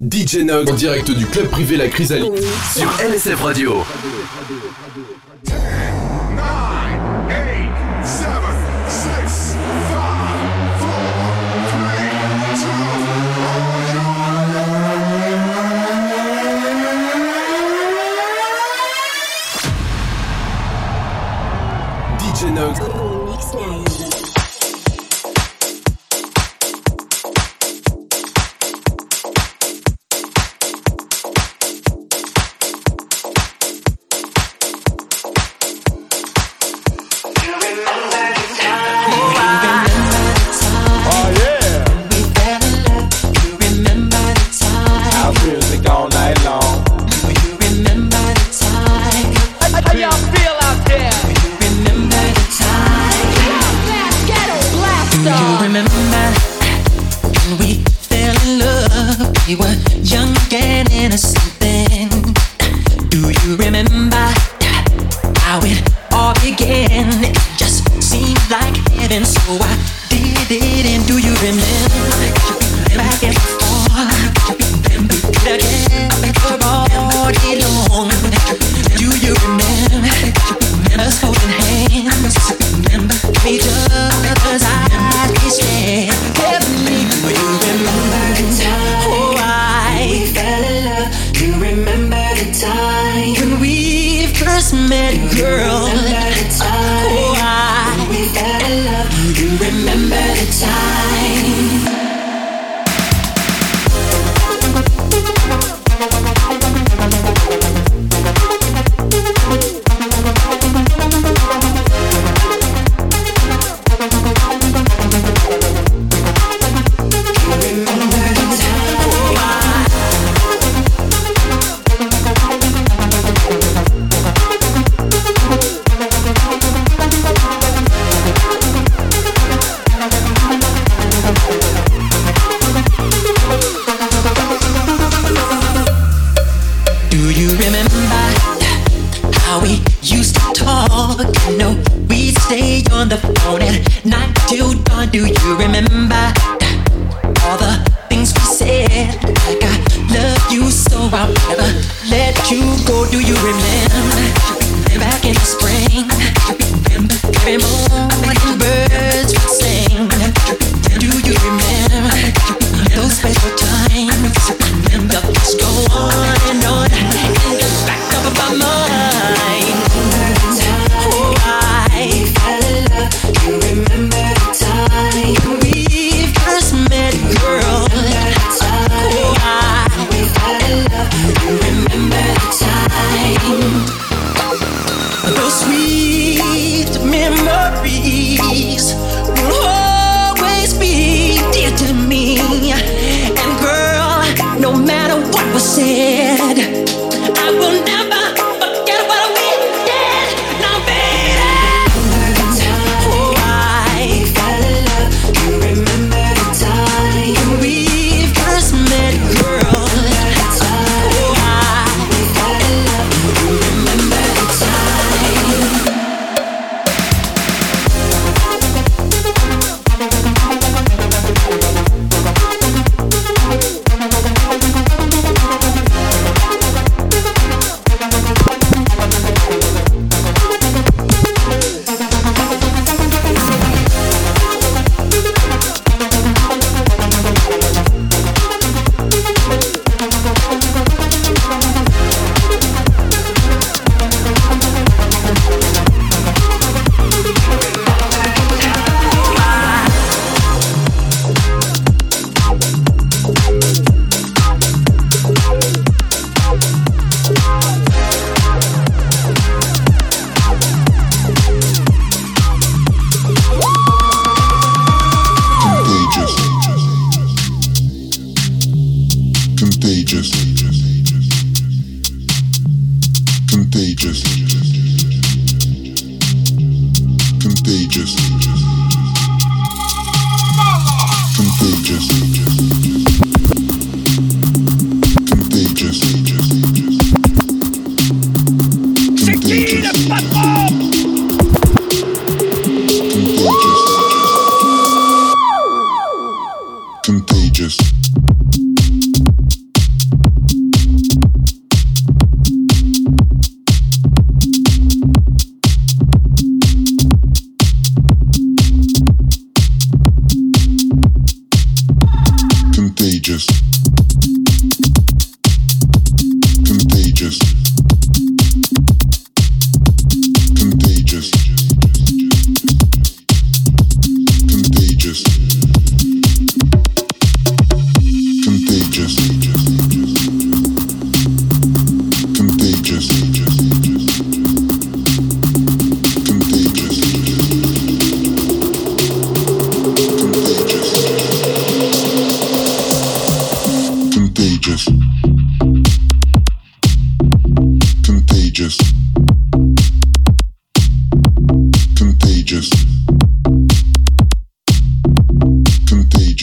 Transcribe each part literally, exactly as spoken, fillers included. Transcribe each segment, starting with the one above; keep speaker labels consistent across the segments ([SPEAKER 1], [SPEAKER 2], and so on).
[SPEAKER 1] D J Nox en direct du club privé La Chrysalide sur L S F Radio. D J Nox.
[SPEAKER 2] We were young and innocent then. Do you remember how it all began? It just seemed like heaven, so I did it. And do you remember back and forth? We did again for all day long. Do you remember us holding hands? Remember each other's eyes we stared heavenly. Do you remember the time? Oh, I we fell in love. Do you remember the time when we first met, girl? Oh, I we fell in love. Do you remember the time? Do you remember all the things we said? Like I love you so I'll never let you go. Do you remember back in the spring? Every morning birds would sing. Do you remember those special times? The thoughts go on and on in the back of my mind. Oh, I fell in love. You remember the time we first met, girl? Oh, I fell in love. You remember the time? Those sweet memories will always be dear to me. And girl, no matter what was said, I will never forget what we did. Now, baby, oh, I fell in love. You remember the time we first met, girl? Oh, I fell in love. You remember the time?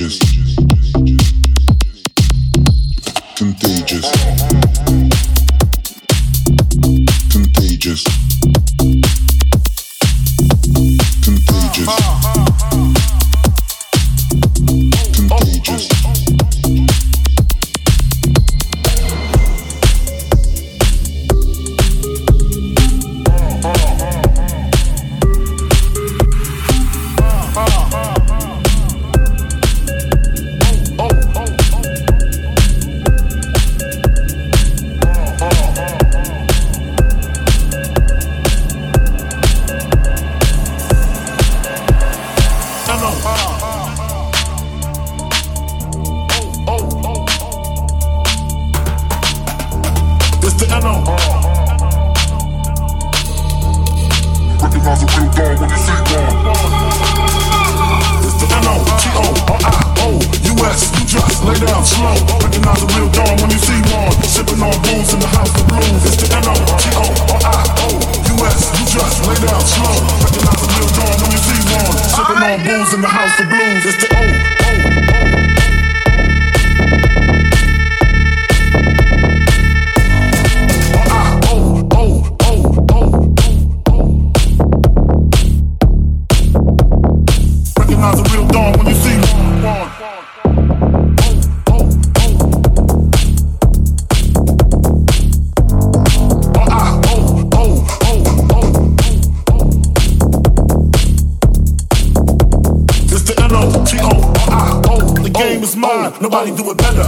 [SPEAKER 3] Nobody do it better.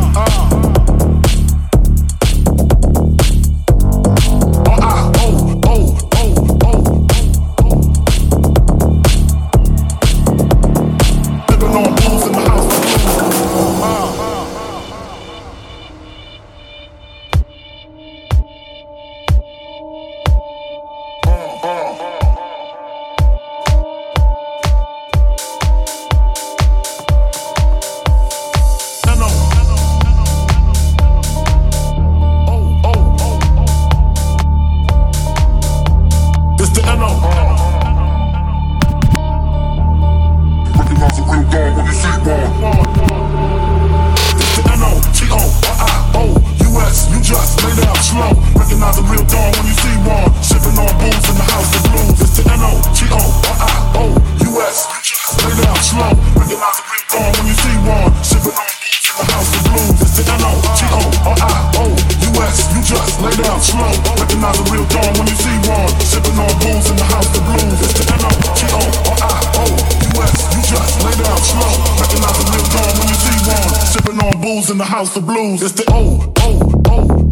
[SPEAKER 3] In the house of blues, it's the O, O, O.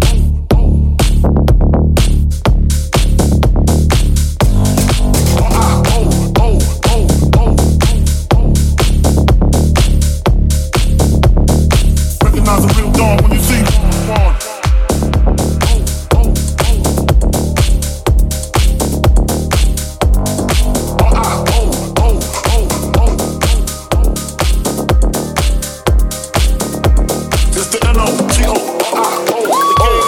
[SPEAKER 3] It's the N O T O I O.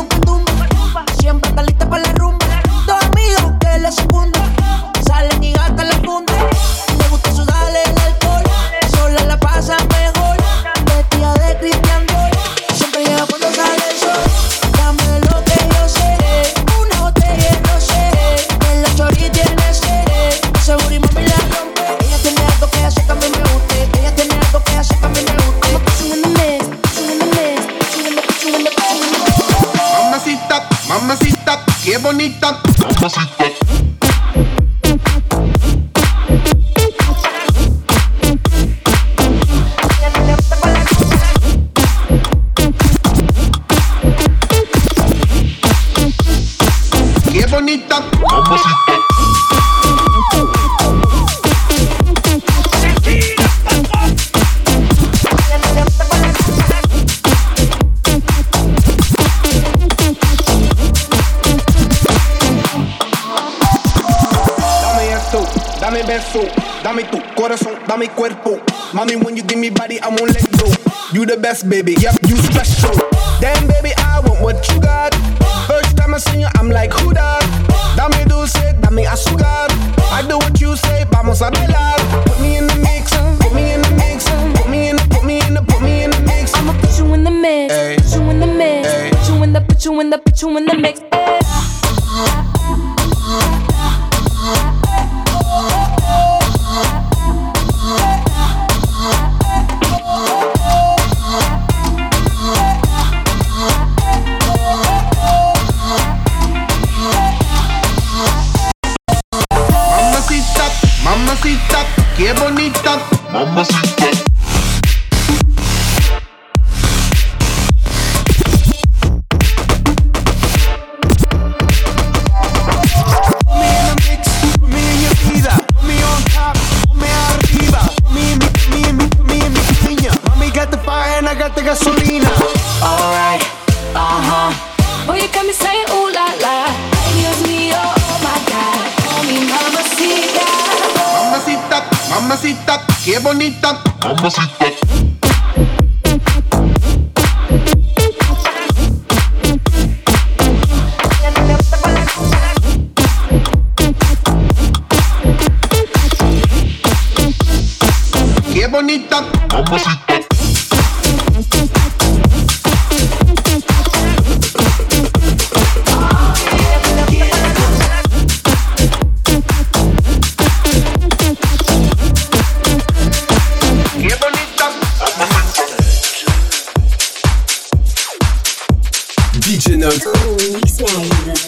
[SPEAKER 4] nunca tumba. Siempre está lista para la rumba. Dos amigos que la secundan. Salen y gastan la funda. Le gusta sudarle el alcohol. Sola la pasa mejor. Vestida de Christian Dior. Siempre llega cuando sale el sol. Dame lo que yo sé. Una botella de rosé. En la chori tiene sed. Ese booty mami la rompe. Ella tiene algo que hace que a mí me guste. Ella tiene algo que hace que a mí me guste. I'ma put you in the mix, put you in the mix, put you in the, put you in the, put you in the.
[SPEAKER 5] Mamacita, mamacita, qué bonita. Mamacita. Qué bonita. Mamacita. Dame beso, dame tu corazón, dame cuerpo. Mami, when you give me body, I won't let go. You the best, baby, yep, you special. Damn, baby, I want what you got. First time I see you, I'm like, who that? Dame dulce, dame azúcar. I do what you say, vamos a bailar. Put me in the mix, put me in the mix, put me in the, put me in the, put me in the mix.
[SPEAKER 4] I'ma put you in the mix,
[SPEAKER 5] ay,
[SPEAKER 4] put you in the mix,
[SPEAKER 5] ay,
[SPEAKER 4] put you in the, put you in the, put you in the mix.
[SPEAKER 5] Mamacita, qué bonita. Mamacita. Put me in the mix, put me in your vida. Put me on top, put me arriba. Put me in mi, put me in mi, put me in mi piña. Mami got the fire and I got the gasolina.
[SPEAKER 4] Alright, uh-huh. Boy, you got me saying ooh la la. Dios mío, oh my God. Call me mamacita.
[SPEAKER 5] Mamacita, mamacita, qué bonita. Mamacita. Qué bonita. Mamacita.
[SPEAKER 1] D J Note.
[SPEAKER 2] Mix Live.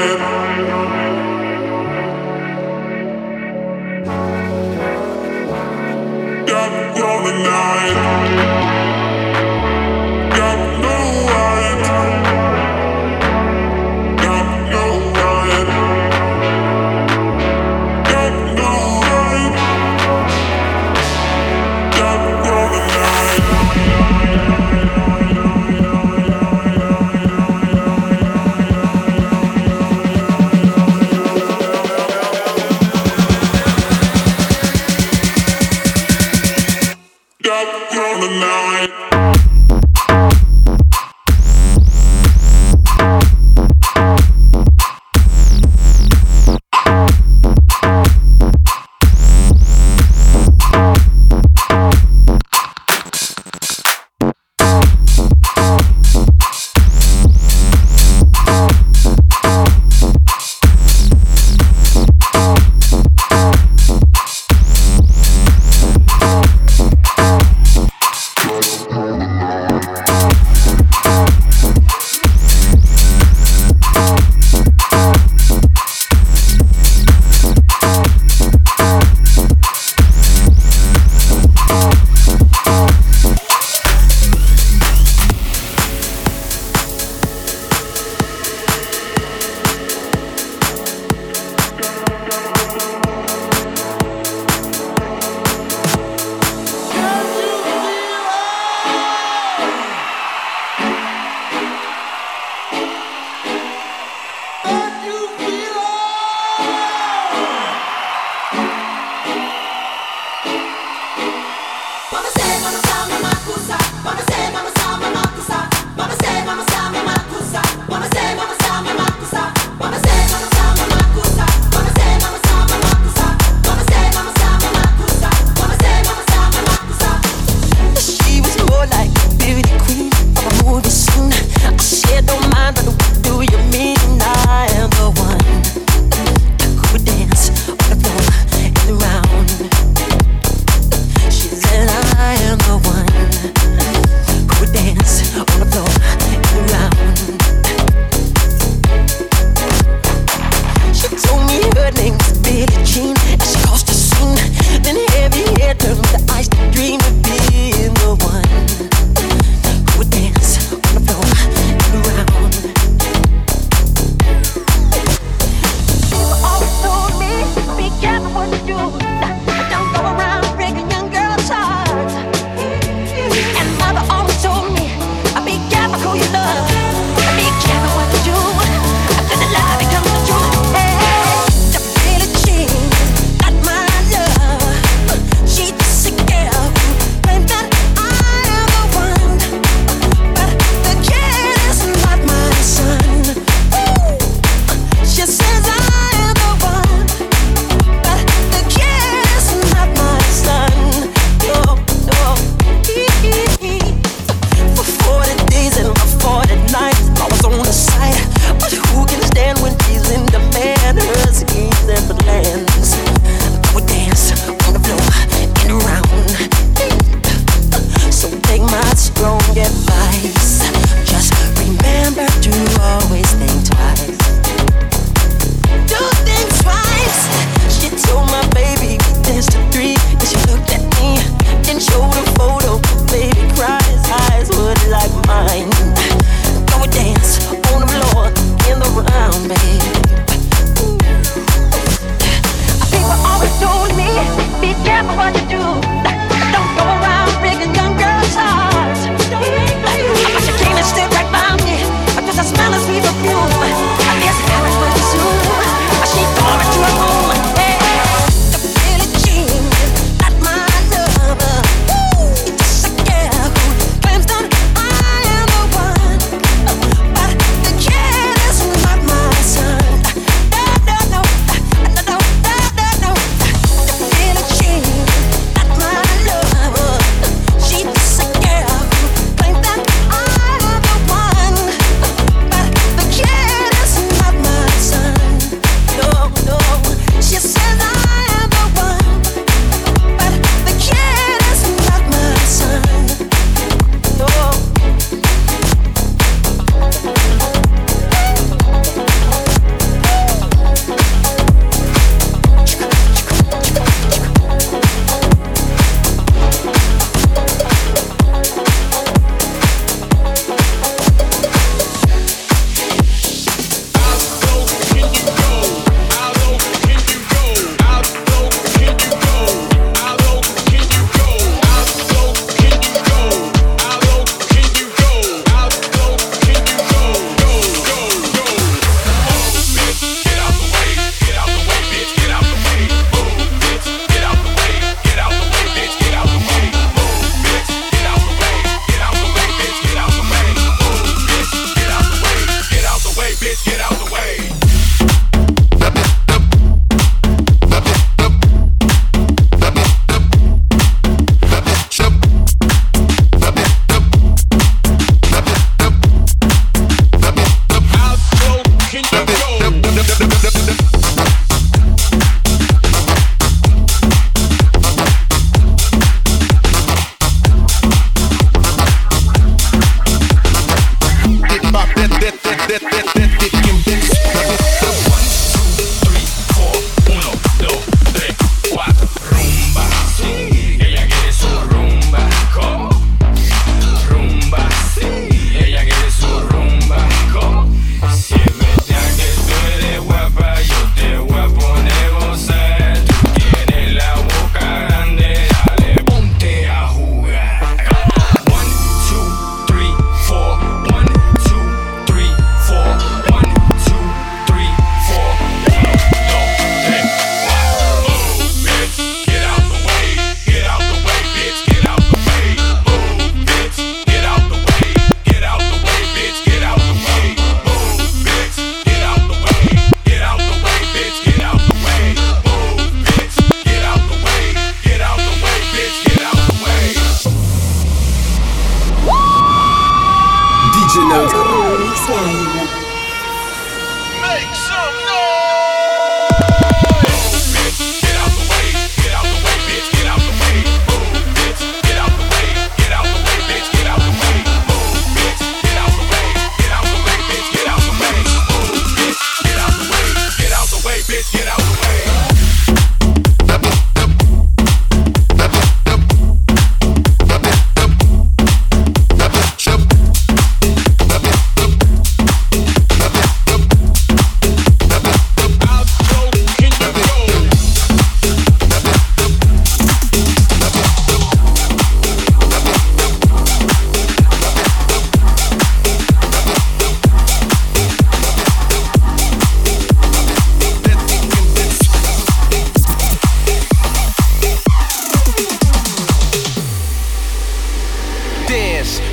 [SPEAKER 6] When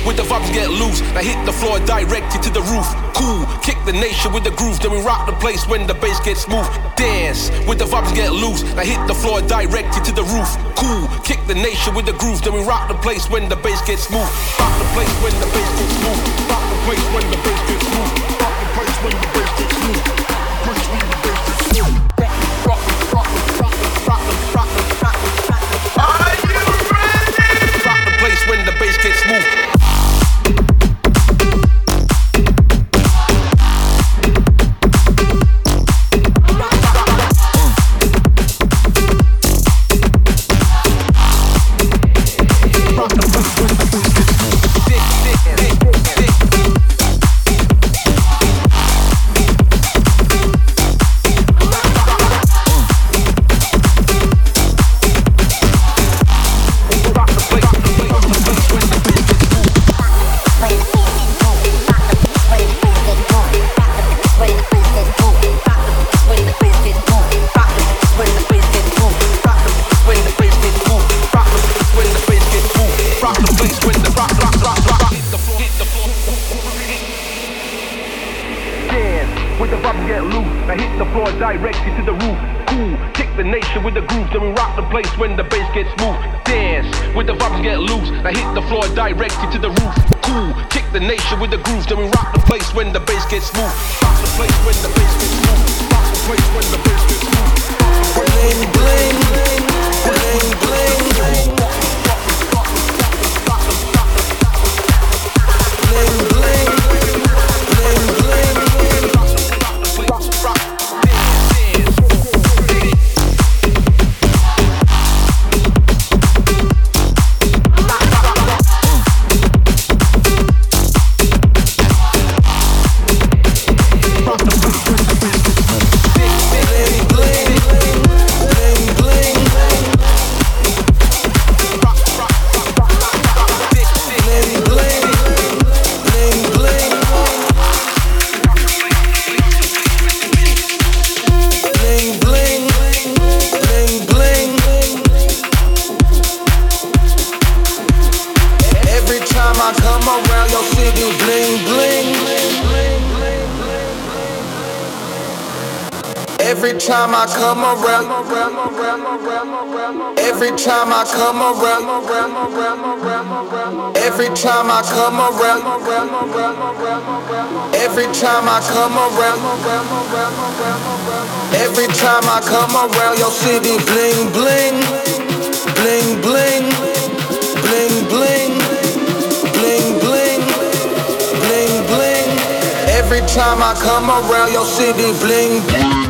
[SPEAKER 6] with the vibes get loose. Now hit the floor directed to the roof. Cool, kick the nation with the groove. Then we rock the place when the bass gets smooth. Dance with the vibes get loose. Now hit the floor directed to the roof. Cool, kick the nation with the groove. Then we rock the place when the bass gets smooth. Rock the place when the bass gets smooth. Rock the place when the bass gets smooth. Rock the place when the bass gets smooth. Place when the bass gets smooth. Rock, rock, rock, rock, rock, rock, rock, rock. Are you ready? Rock the place when the bass gets smooth. Directed to the roof, cool, kick the nation with the groove, then we rock the place when the bass gets smooth. Dance with the vibes get loose, now hit the floor directed to the roof. Cool, kick the nation with the groove, then we rock the place when the bass gets smooth. Rock the place when the bass gets smooth. Rock the place when the bass gets smooth. Bling bling, bling bling, bling bling. Every time I come around, every time I come around, every time I come around, every time I come around, every time I come around your city, bling bling, bling bling, bling bling, bling bling, bling bling. Every time I come around your city, bling bling.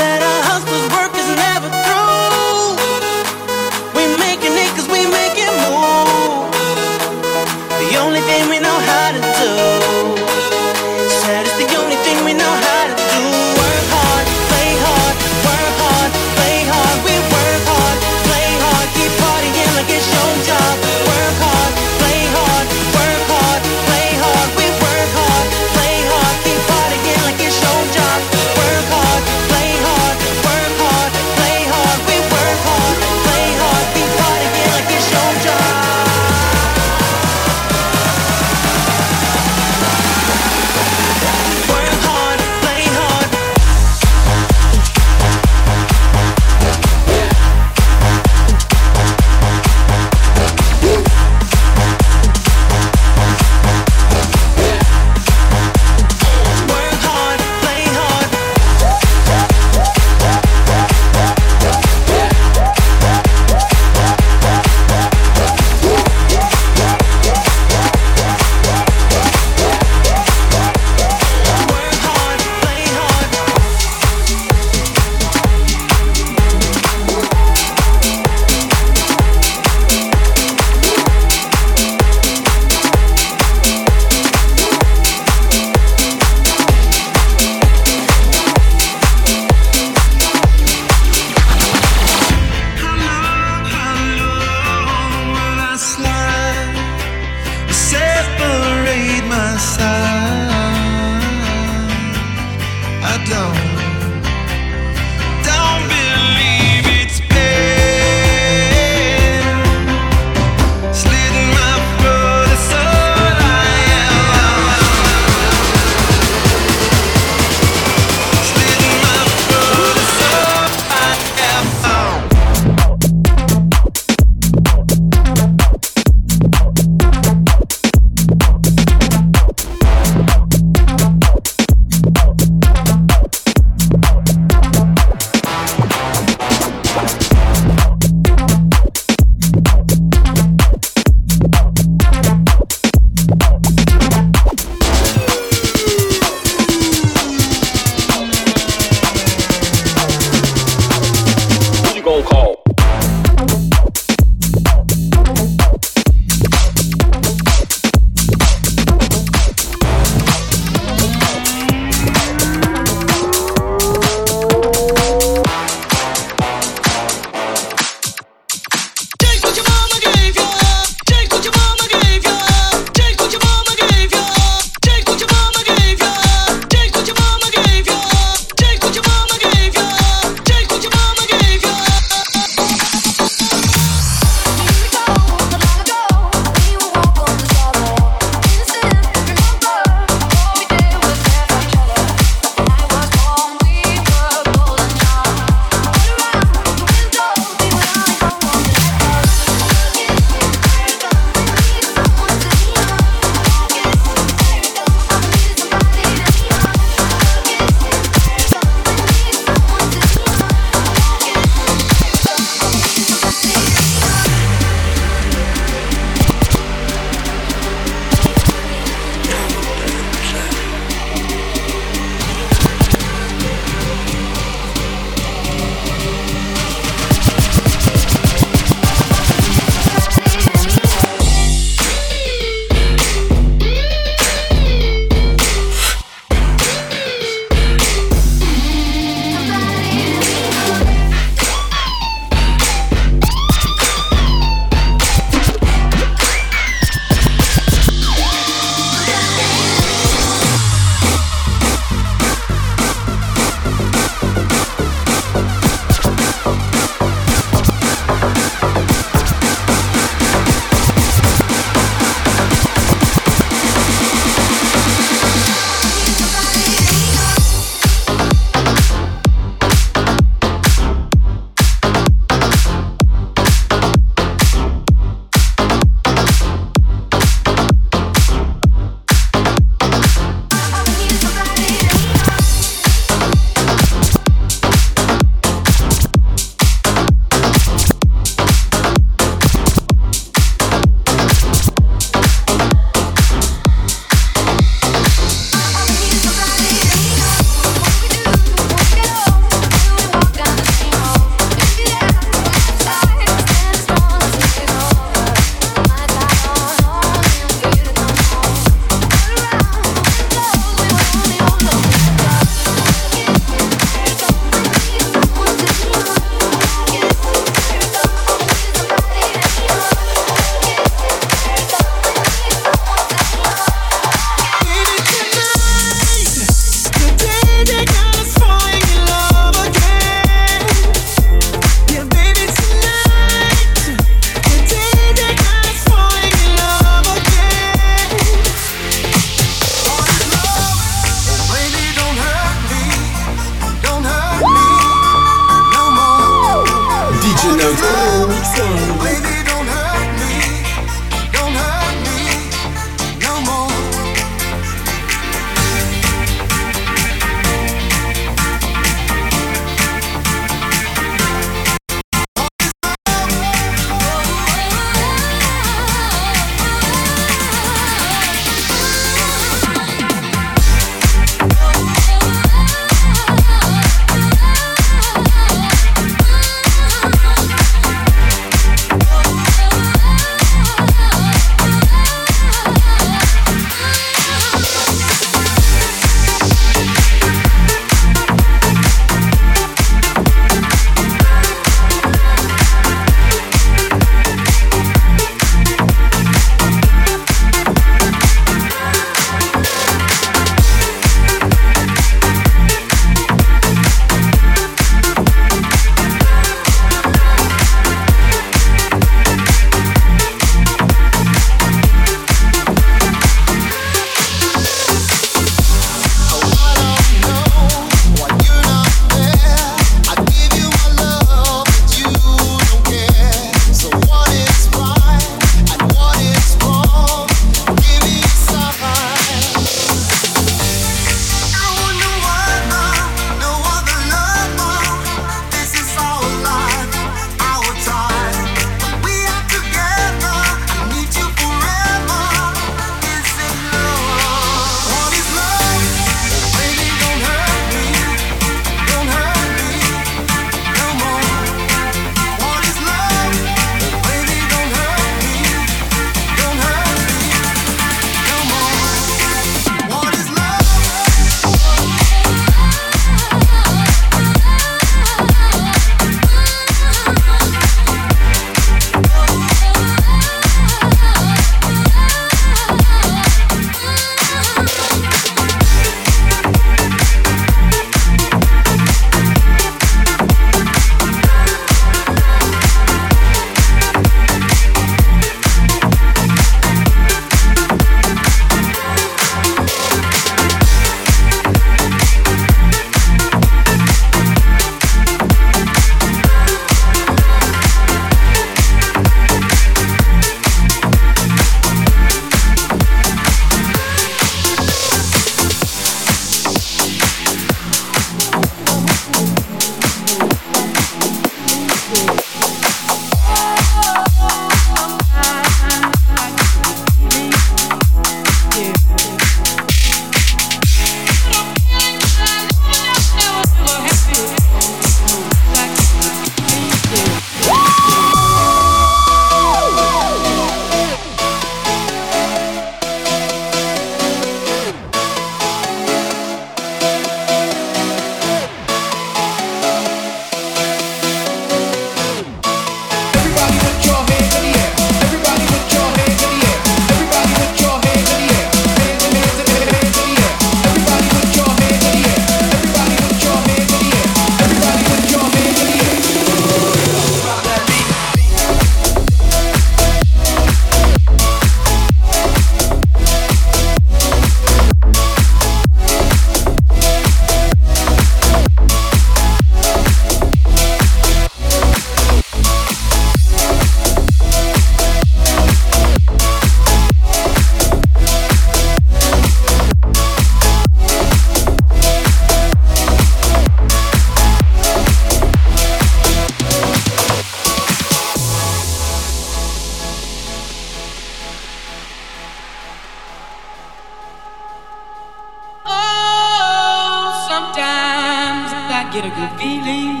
[SPEAKER 7] get a good feeling,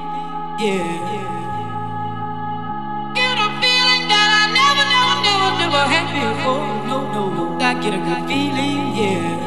[SPEAKER 7] yeah. Get a feeling that I never, never, never, never had before. No, no, no, I get a good feeling, yeah.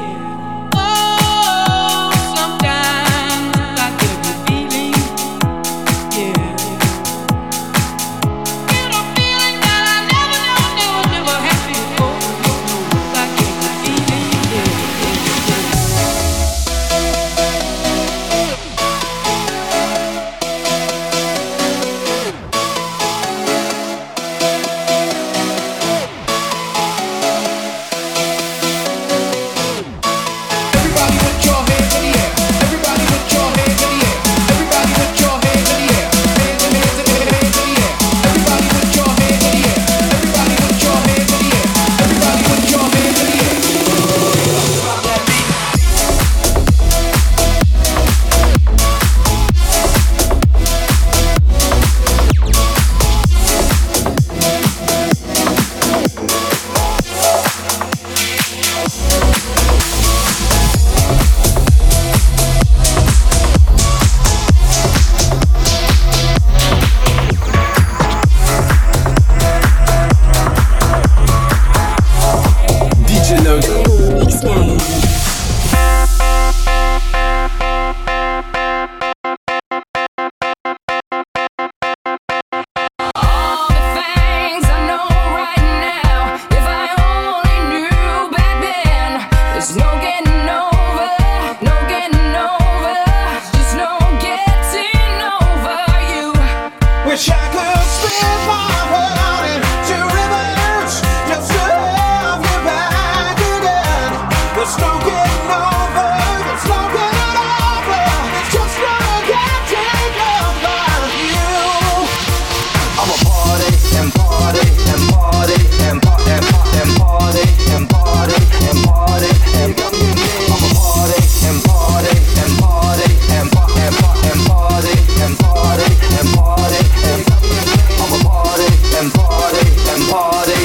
[SPEAKER 8] party and party and party and party and party and party and party. I'ma party and party and party and party and party and party and party and party and I'ma party and party and party.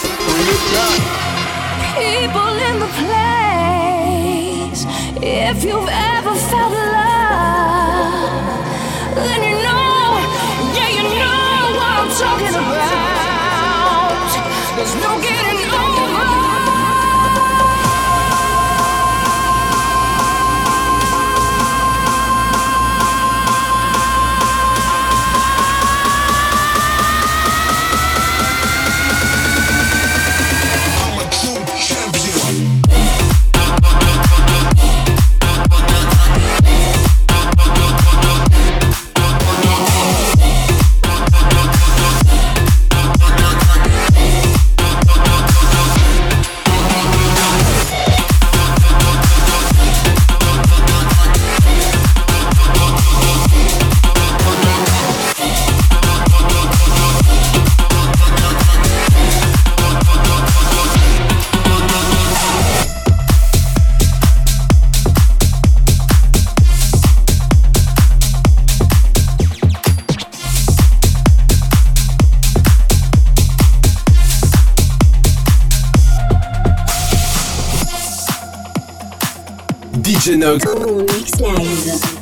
[SPEAKER 9] People in the place. If you've ever felt love, then you know, yeah, you know what I'm talking about. There's no getting over.
[SPEAKER 1] D J Nox.
[SPEAKER 10] Mix Live.